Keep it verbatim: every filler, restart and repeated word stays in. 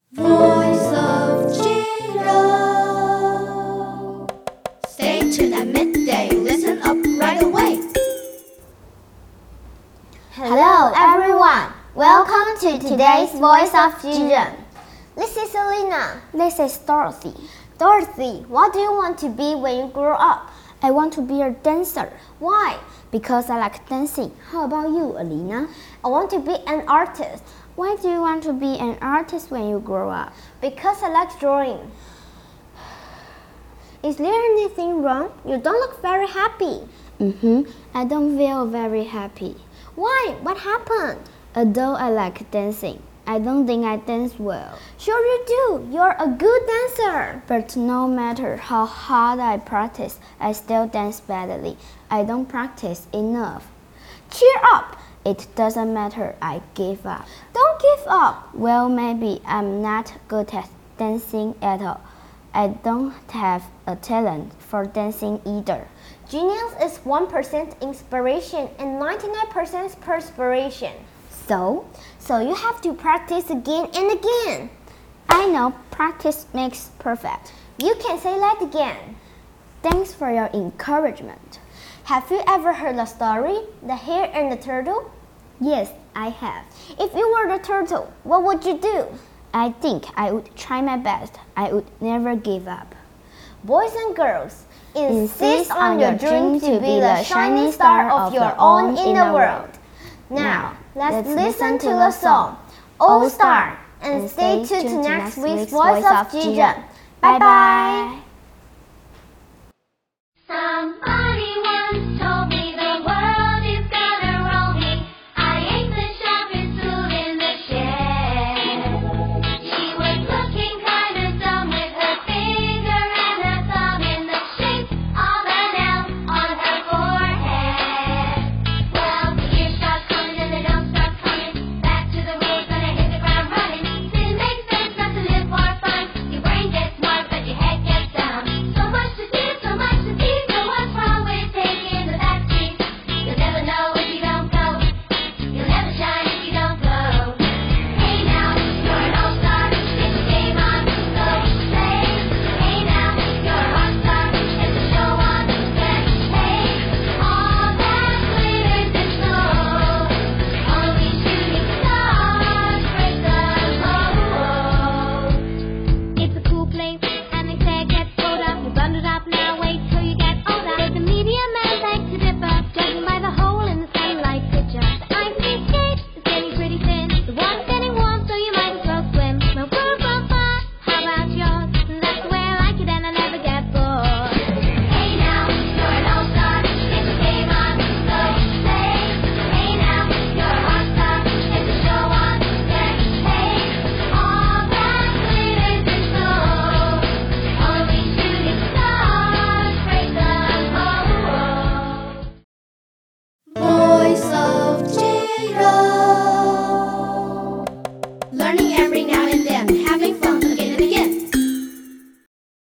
Voice of Jiro. Stay tuned at midday. Listen up right away. Hello everyone. Welcome to today's Voice of Jiro. This is Selena. This is Dorothy. Dorothy, what do you want to be when you grow up? I want to be a dancer. Why? Because I like dancing. How about you, Alina? I want to be an artist. Why do you want to be an artist when you grow up? Because I like drawing. Is there anything wrong? You don't look very happy. Mm-hmm. I don't feel very happy. Why? What happened? Although I like dancing, I don't think I dance well. Sure you do. You're a good dancer. But no matter how hard I practice, I still dance badly. I don't practice enough. Cheer up. It doesn't matter. I give up. Don't give up. Well, maybe I'm not good at dancing at all. I don't have a talent for dancing either. Genius is one percent inspiration and ninety-nine percent perspiration. So? So you have to practice again and again. I know practice makes perfect. You can say that again. Thanks for your encouragement. Have you ever heard the story, The Hare and the Turtle? Yes, I have. If you were the turtle, what would you do? I think I would try my best. I would never give up. Boys and girls, insist on your dream to be the shining star star of your own in the world. Now, let's listen to the song, All Star, and stay tuned to next week's Voice of Jiro. Bye bye. Somebody